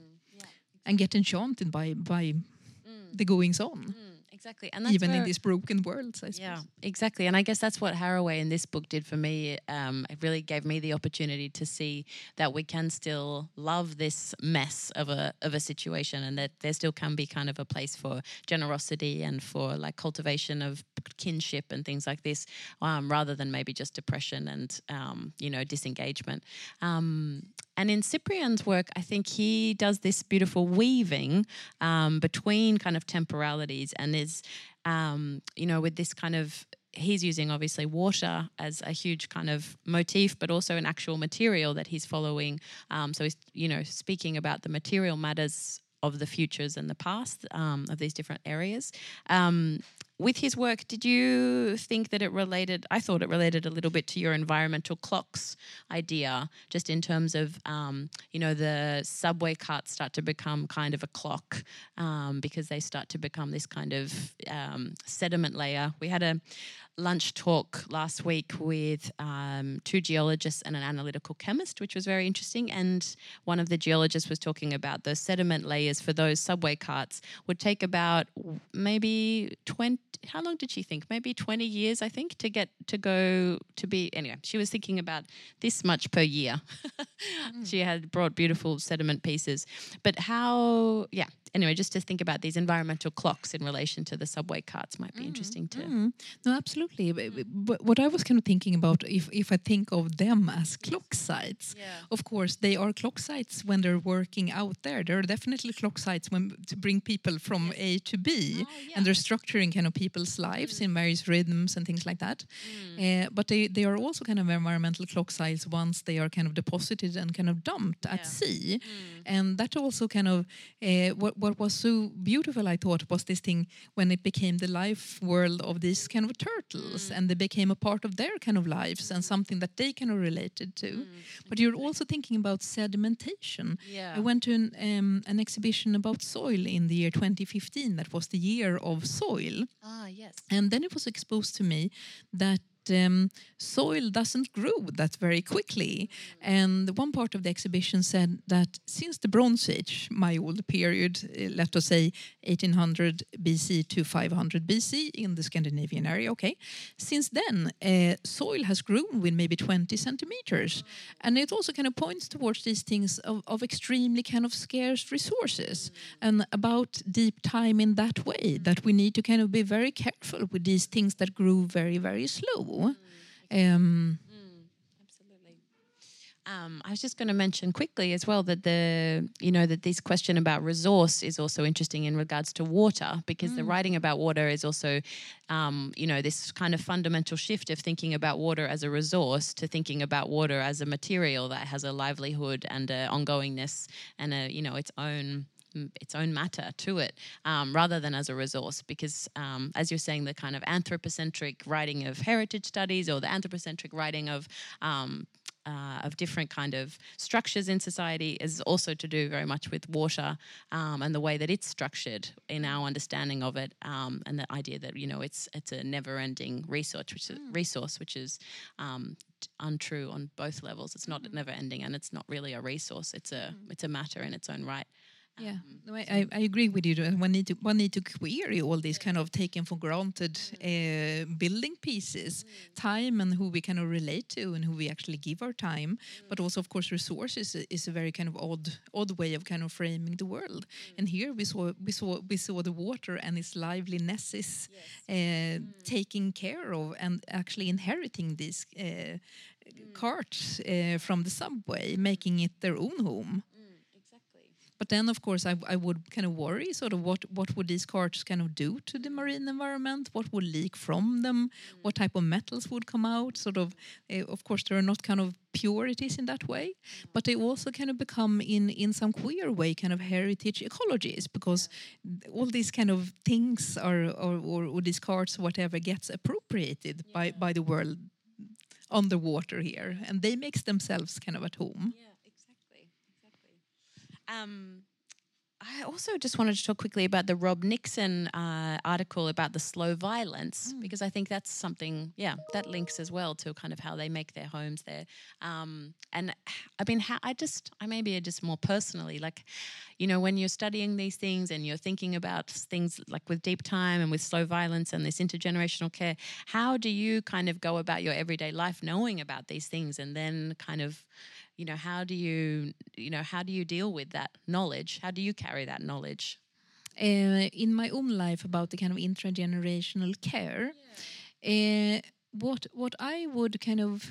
S4: and get enchanted by the goings on.
S3: Exactly, and that's
S4: even in these broken worlds, I suppose.
S3: Yeah, exactly, and I guess that's what Haraway in this book did for me. It really gave me the opportunity to see that we can still love this mess of a situation, and that there still can be kind of a place for generosity and for like cultivation of kinship and things like this, rather than maybe just depression and disengagement. And in Cyprian's work, I think he does this beautiful weaving between kind of temporalities and is, with this kind of, he's using obviously water as a huge kind of motif, but also an actual material that he's following. So he's, speaking about the material matters of the futures and the past of these different areas. With his work, did you think that it related? I thought it related a little bit to your environmental clocks idea, just in terms of, the subway carts start to become kind of a clock because they start to become this kind of sediment layer. We had a lunch talk last week with 2 geologists and an analytical chemist, which was very interesting. And one of the geologists was talking about the sediment layers for those subway carts would take about maybe 20, how long did she think? Maybe 20 years, I think, to get to go to be, anyway, she was thinking about this much per year. She had brought beautiful sediment pieces. But anyway, just to think about these environmental clocks in relation to the subway carts might be interesting too.
S4: No, absolutely. But what I was kind of thinking about, if I think of them as clock sites, of course, they are clock sites when they're working out there. There are definitely clock sites to bring people from A to B, and they're structuring kind of people's lives in various rhythms and things like that. But they are also kind of environmental clock sites once they are kind of deposited and kind of dumped at sea. And that also kind of, what was so beautiful, I thought, was this thing when it became the life world of these kind of turtles, and they became a part of their kind of lives and something that they kind of related to. But you're also thinking about sedimentation. I went to an exhibition about soil in the year 2015. That was the year of soil. And then it was exposed to me that soil doesn't grow that very quickly. And one part of the exhibition said that since the Bronze Age, my old period, let us say 1800 BC to 500 BC in the Scandinavian area, since then soil has grown with maybe 20 centimeters. And it also kind of points towards these things of extremely kind of scarce resources and about deep time in that way, that we need to kind of be very careful with these things that grow very, very slow.
S3: Absolutely. I was just going to mention quickly as well that that this question about resource is also interesting in regards to water, because the writing about water is also, this kind of fundamental shift of thinking about water as a resource to thinking about water as a material that has a livelihood and a ongoingness and its own matter to it, rather than as a resource. Because as you're saying, the kind of anthropocentric writing of heritage studies or the anthropocentric writing of different kind of structures in society is also to do very much with water and the way that it's structured in our understanding of it, and the idea that it's a never-ending resource, which is untrue on both levels. It's not never-ending, and it's not really a resource. It's a matter in its own right.
S4: Yeah, no, I agree with you. One need to query all these kind of taken for granted building pieces, time, and who we kind of relate to and who we actually give our time. But also, of course, resources is a very kind of odd way of kind of framing the world. And here we saw the water and its liveliness taken care of, and actually inheriting these carts from the subway, making it their own home. But then, of course, I would kind of worry sort of what would these carts kind of do to the marine environment? What would leak from them? What type of metals would come out? Sort of course, there are not kind of purities in that way, but they also kind of become in some queer way kind of heritage ecologies, because all these kind of things or these carts, whatever, gets appropriated by the world underwater here, and they make themselves kind of at home.
S3: I also just wanted to talk quickly about the Rob Nixon article about the slow violence, because I think that's something, that links as well to kind of how they make their homes there. And I mean, I maybe just more personally, like, when you're studying these things and you're thinking about things like with deep time and with slow violence and this intergenerational care, how do you kind of go about your everyday life knowing about these things, and then kind of, how do you deal with that knowledge? How do you carry that knowledge?
S4: In my own life, about the kind of intergenerational care, what I would kind of,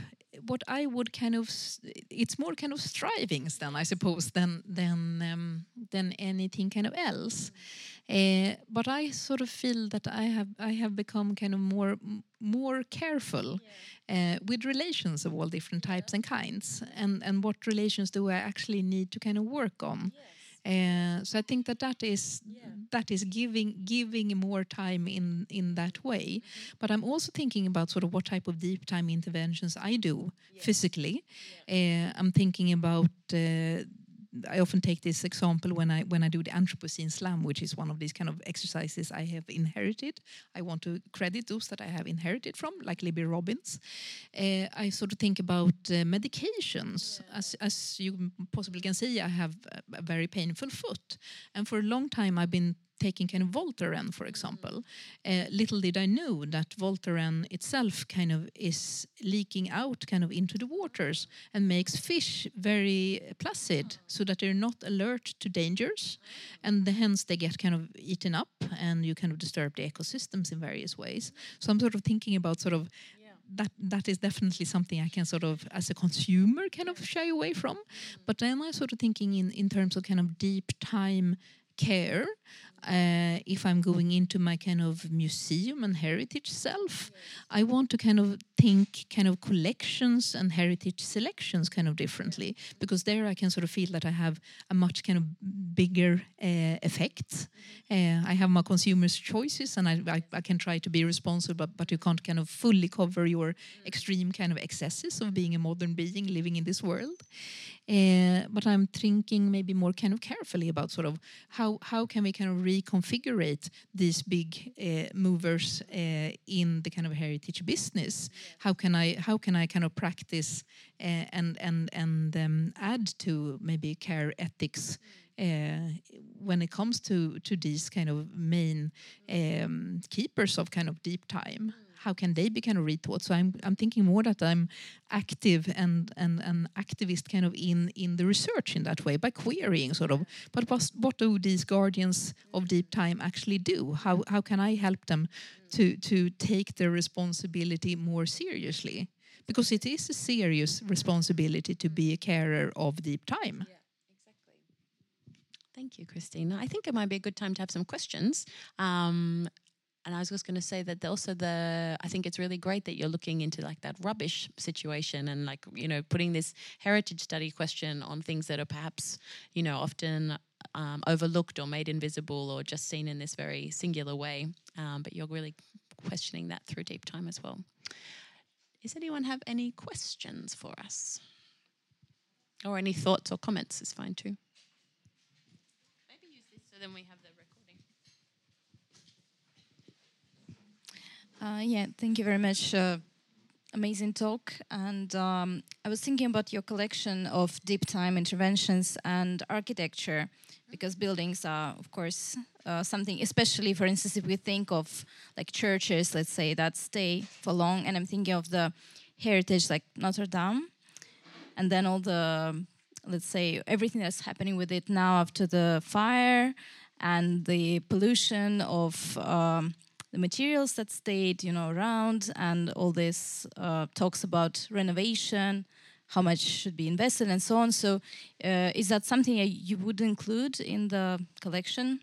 S4: it's more kind of strivings then, I suppose, than anything kind of else. But I sort of feel that I have become kind of more careful with relations of all different types and kinds, and what relations do I actually need to kind of work on. So I think that is giving more time in that way. But I'm also thinking about sort of what type of deep time interventions I do physically. I'm thinking about. I often take this example when I do the Anthropocene slam, which is one of these kind of exercises I have inherited. I want to credit those that I have inherited from, like Libby Robbins. I sort of think about medications. As you possibly can see, I have a very painful foot. And for a long time, I've been taking kind of Voltaren, for example. Little did I know that Voltaren itself kind of is leaking out kind of into the waters and makes fish very placid, so that they're not alert to dangers, and hence they get kind of eaten up, and you kind of disturb the ecosystems in various ways. So I'm sort of thinking about sort of that is definitely something I can sort of, as a consumer, kind of shy away from. But then I'm sort of thinking in terms of kind of deep time care. If I'm going into my kind of museum and heritage self, I want to kind of think kind of collections and heritage selections kind of differently, because there I can sort of feel that I have a much kind of bigger effect. I have my consumers' choices, and I can try to be responsible, but you can't kind of fully cover your extreme kind of excesses of being a modern being living in this world. But I'm thinking maybe more kind of carefully about sort of how can we kind of reconfigure these big movers in the kind of heritage business. How can I kind of practice and add to maybe care ethics when it comes to these kind of main keepers of kind of deep time. How can they be kind of rethought? So I'm thinking more that I'm active and an activist kind of in the research in that way, by querying sort of, but what do these guardians of deep time actually do? How can I help them to take their responsibility more seriously? because it is a serious responsibility to be a carer of deep time.
S3: Yeah, exactly. Thank you, Christine. I think it might be a good time to have some questions. And I was just going to say that also I think it's really great that you're looking into like that rubbish situation and like, you know, putting this heritage study question on things that are perhaps, you know, often overlooked or made invisible or just seen in this very singular way. But you're really questioning that through deep time as well. Does anyone have any questions for us? Or any thoughts or comments is fine too. Maybe use this so then we have the recording.
S5: Yeah, thank you very much. Amazing talk. And I was thinking about your collection of deep time interventions and architecture, because buildings are, of course, something, especially, for instance, if we think of like churches, let's say, that stay for long. And I'm thinking of the heritage like Notre Dame, and then all the, let's say, everything that's happening with it now after the fire and the pollution of the materials that stayed, you know, around, and all this talks about renovation, how much should be invested, and so on. So, is that something you would include in the collection?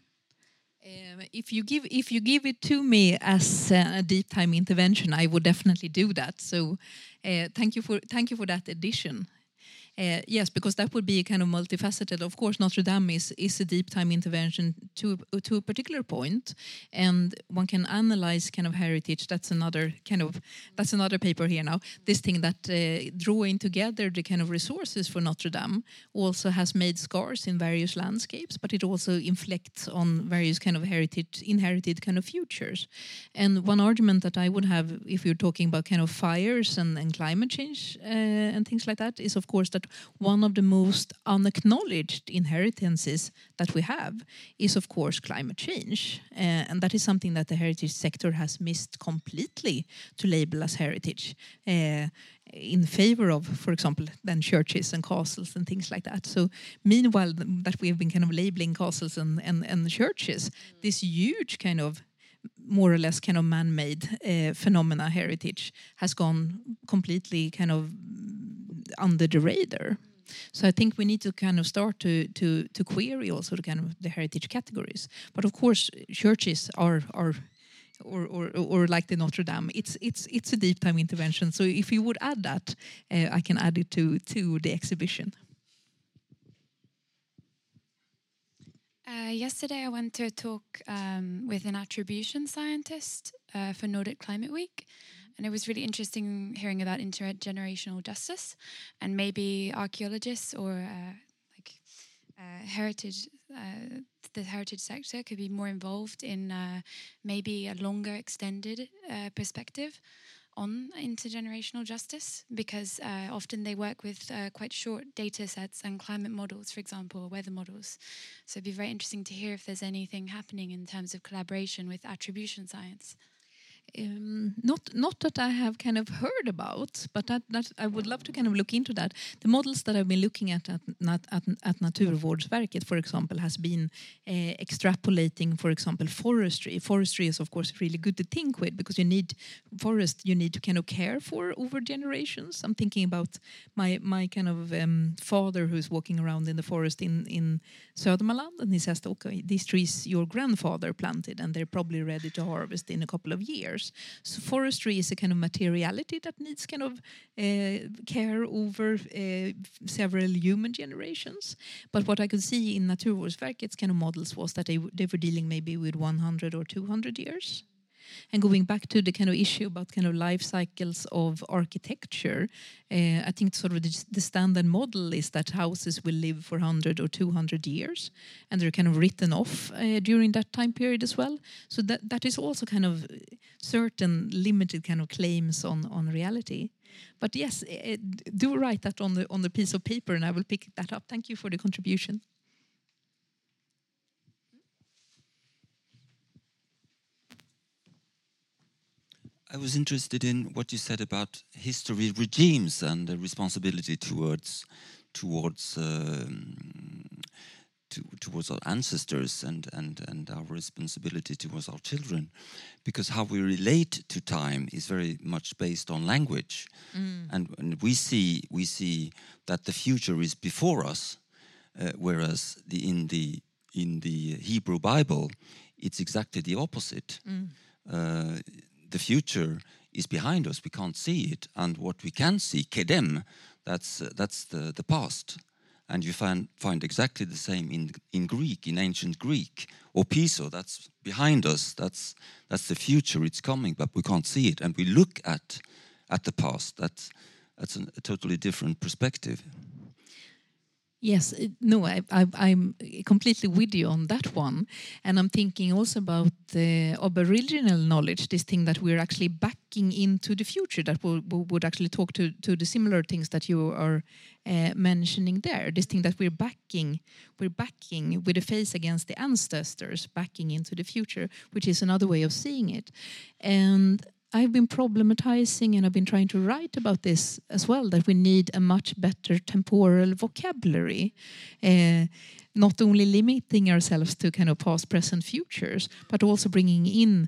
S4: If you give it to me as a deep time intervention, I would definitely do that. So, thank you for that addition. Yes, because that would be kind of multifaceted. Of course, Notre Dame is a deep time intervention to a particular point, and one can analyze kind of heritage. That's another paper here now. This thing that drawing together the kind of resources for Notre Dame also has made scars in various landscapes, but it also inflects on various kind of inherited kind of futures. And one argument that I would have, if you're talking about kind of fires and climate change and things like that, is of course that one of the most unacknowledged inheritances that we have is, of course, climate change. And that is something that the heritage sector has missed completely to label as heritage, in favor of, for example, then churches and castles and things like that. So meanwhile that we have been kind of labeling castles and churches, this huge kind of more or less kind of man-made phenomena heritage has gone completely kind of under the radar. So I think we need to kind of start to query also the kind of the heritage categories. But of course, churches are or like the Notre Dame, it's a deep time intervention. So if you would add that, I can add it to the exhibition.
S6: Yesterday I went to a talk with an attribution scientist for Nordic Climate Week, and it was really interesting hearing about intergenerational justice, and maybe archaeologists or heritage, the heritage sector could be more involved in maybe a longer extended perspective on intergenerational justice, because often they work with quite short data sets and climate models, for example, or weather models. So it'd be very interesting to hear if there's anything happening in terms of collaboration with attribution science.
S4: Not that I have kind of heard about, but that I would love to kind of look into that. The models that I've been looking at Naturvårdsverket, for example, has been extrapolating, for example, forestry. Forestry is, of course, really good to think with, because you need to kind of care for over generations. I'm thinking about my kind of father who's walking around in the forest in Södermanland, and he says, okay, these trees your grandfather planted, and they're probably ready to harvest in a couple of years. So forestry is a kind of materiality that needs kind of care over several human generations. But what I could see in Naturvårdsverket's kind of models was that they were dealing maybe with 100 or 200 years. And going back to the kind of issue about kind of life cycles of architecture, I think sort of the standard model is that houses will live for 100 or 200 years, and they're kind of written off during that time period as well. So that is also kind of certain limited kind of claims on reality. But yes, do write that on the piece of paper, and I will pick that up. Thank you for the contribution.
S7: I was interested in what you said about history regimes and the responsibility towards towards our ancestors and our responsibility towards our children, because how we relate to time is very much based on language, and we see that the future is before us, whereas in the Hebrew Bible it's exactly the opposite. The future is behind us, we can't see it, and what we can see, kedem, that's the past. And you find exactly the same in Greek, in ancient Greek. Opiso, that's behind us, that's the future, it's coming, but we can't see it. And we look at the past, that's a totally different perspective.
S4: Yes, I'm completely with you on that one. And I'm thinking also about the aboriginal knowledge, this thing that we're actually backing into the future, that we would actually talk to the similar things that you are mentioning there. This thing that we're backing with a face against the ancestors, backing into the future, which is another way of seeing it. And I've been problematizing and I've been trying to write about this as well, that we need a much better temporal vocabulary, not only limiting ourselves to kind of past, present, futures, but also bringing in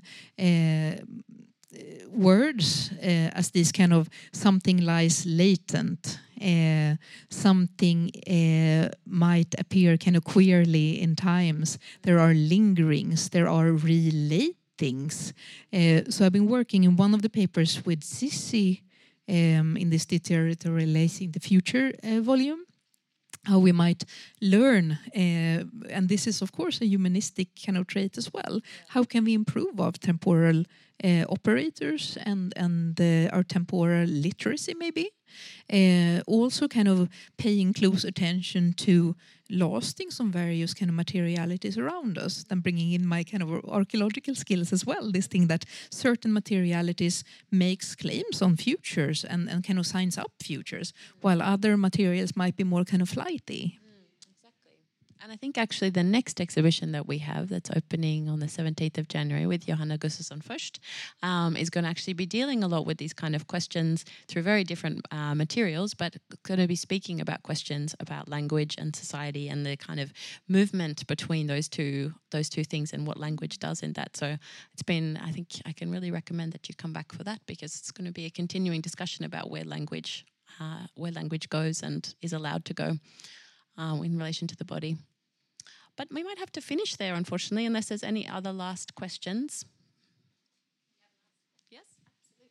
S4: words as this kind of something lies latent, something might appear kind of queerly in times. There are lingerings, there are relatings. So I've been working in one of the papers with Sissi in this Deteriorating the Future volume, how we might learn, and this is of course a humanistic kind of trait as well. How can we improve our temporal operators and our temporal literacy maybe? Also kind of paying close attention to lasting some various kind of materialities around us, then bringing in my kind of archaeological skills as well, this thing that certain materialities makes claims on futures and kind of signs up futures, while other materials might be more kind of flighty.
S3: And I think actually the next exhibition that we have that's opening on the 17th of January with Johanna Gustafsson Fürst is going to actually be dealing a lot with these kind of questions through very different materials, but going to be speaking about questions about language and society and the kind of movement between those two things and what language does in that. So it's been, I think I can really recommend that you come back for that, because it's going to be a continuing discussion about where language goes and is allowed to go in relation to the body. But we might have to finish there, unfortunately, unless there's any other last questions. Yes, absolutely.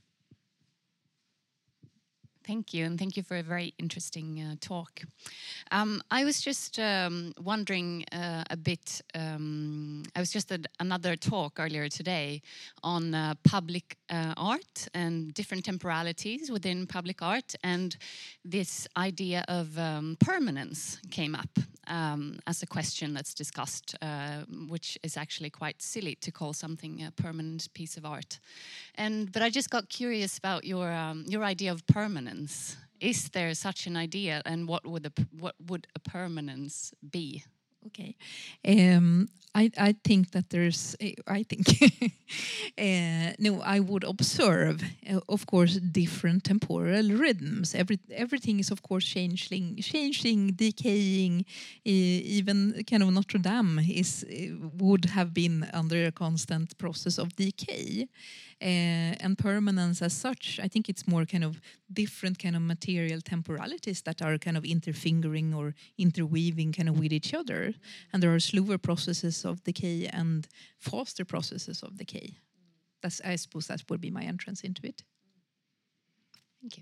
S8: Thank you, and thank you for a very interesting talk. I was just wondering a bit, I was just at another talk earlier today on public art and different temporalities within public art, and this idea of permanence came up as a question that's discussed, which is actually quite silly to call something a permanent piece of art. But I just got curious about your idea of permanence. Is there such an idea, and what would a permanence be?
S4: Okay, I think that there's. I think no. I would observe, of course, different temporal rhythms. Everything is, of course, changing, decaying. Even kind of Notre Dame would have been under a constant process of decay. And permanence as such, I think it's more kind of different kind of material temporalities that are kind of interfingering or interweaving kind of with each other. And there are slower processes of decay and faster processes of decay. I suppose that would be my entrance into it.
S8: Thank you.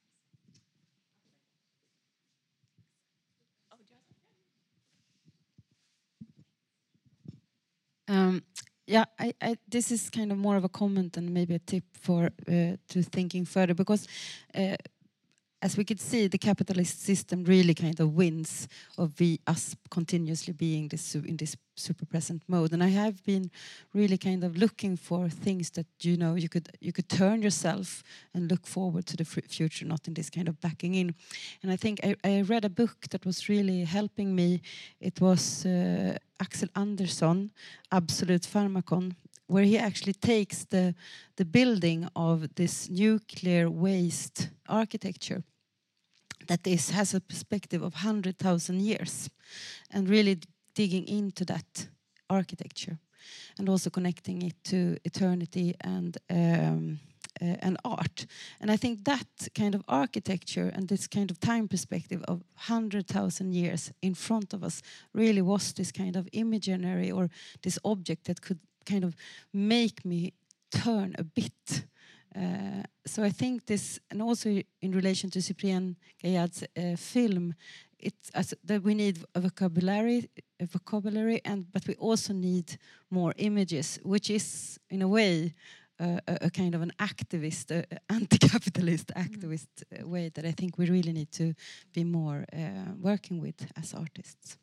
S1: Yeah, this is kind of more of a comment and maybe a tip for to thinking further, because as we could see, the capitalist system really kind of wins of us continuously being in this super present mode. And I have been really kind of looking for things that you could turn yourself and look forward to the future, not in this kind of backing in. And I think I read a book that was really helping me. It was Axel Andersson, Absolute Pharmakon, where he actually takes the building of this nuclear waste architecture that this has a perspective of 100,000 years, and really digging into that architecture, and also connecting it to eternity and art. And I think that kind of architecture and this kind of time perspective of 100,000 years in front of us really was this kind of imaginary, or this object that could kind of make me turn a bit. So I think this, and also in relation to Cyprien Gaillard's film, it's that we need a vocabulary, but we also need more images, which is in a way a kind of an activist, anti-capitalist activist way that I think we really need to be more working with as artists.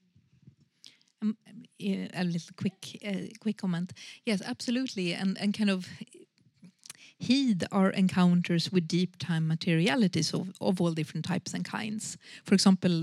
S4: A little quick comment. Yes, absolutely, and kind of heed our encounters with deep time materialities of all different types and kinds. For example,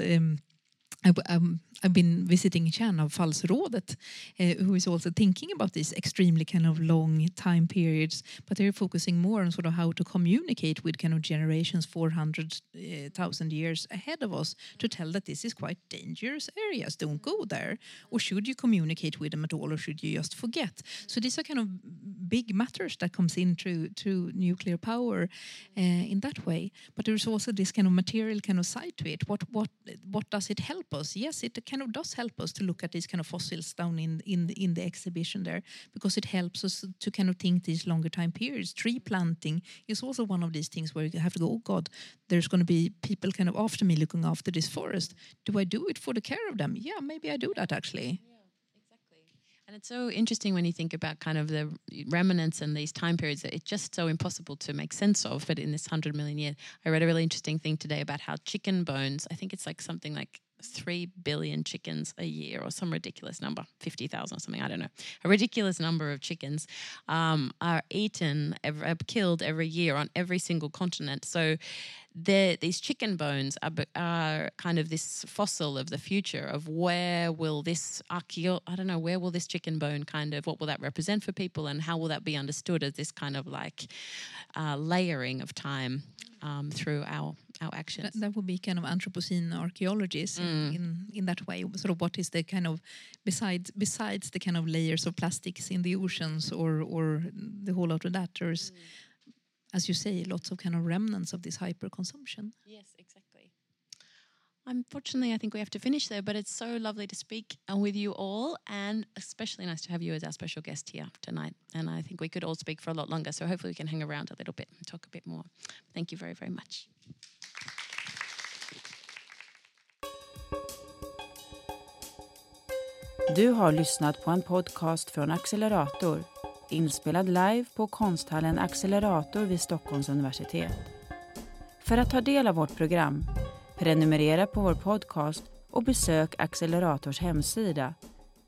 S4: I've been visiting Kärnavfallsrådet, who is also thinking about these extremely kind of long time periods, but they're focusing more on sort of how to communicate with kind of generations 400,000 years ahead of us to tell that this is quite dangerous areas, don't go there. Or should you communicate with them at all, or should you just forget? So these are kind of big matters that comes in through nuclear power in that way. But there's also this kind of material kind of side to it. What does it help us? Yes, it kind of does help us to look at these kind of fossils down in the exhibition there, because it helps us to kind of think these longer time periods. Tree planting is also one of these things where you have to go, oh God, there's going to be people kind of after me looking after this forest. Do I do it for the care of them? Yeah, maybe I do that actually.
S3: And it's so interesting when you think about kind of the remnants and these time periods that it's just so impossible to make sense of. But in this 100 million years, I read a really interesting thing today about how chicken bones, I think it's like something like 3 billion chickens a year, or some ridiculous number, 50,000 or something, I don't know. A ridiculous number of chickens are killed every year on every single continent. So these chicken bones are kind of this fossil of the future of where will this where will this chicken bone what will that represent for people, and how will that be understood as this kind of like layering of time through our actions.
S4: That would be kind of Anthropocene archaeologies in that way. Sort of what is the kind of besides the kind of layers of plastics in the oceans or the whole lot of that, there's as you say, lots of kind of remnants of this hyper-consumption.
S3: Yes, exactly. Unfortunately, I think we have to finish there, but it's so lovely to speak with you all, and especially nice to have you as our special guest here tonight. And I think we could all speak for a lot longer, so hopefully we can hang around a little bit and talk a bit more. Thank you very, very much.
S9: Du har lyssnat på en podcast från Accelerator, inspelad live på konsthallen Accelerator vid Stockholms universitet. För att ta del av vårt program, prenumerera på vår podcast och besök Accelerators hemsida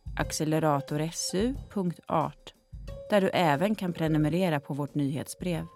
S9: acceleratorsu.art, där du även kan prenumerera på vårt nyhetsbrev.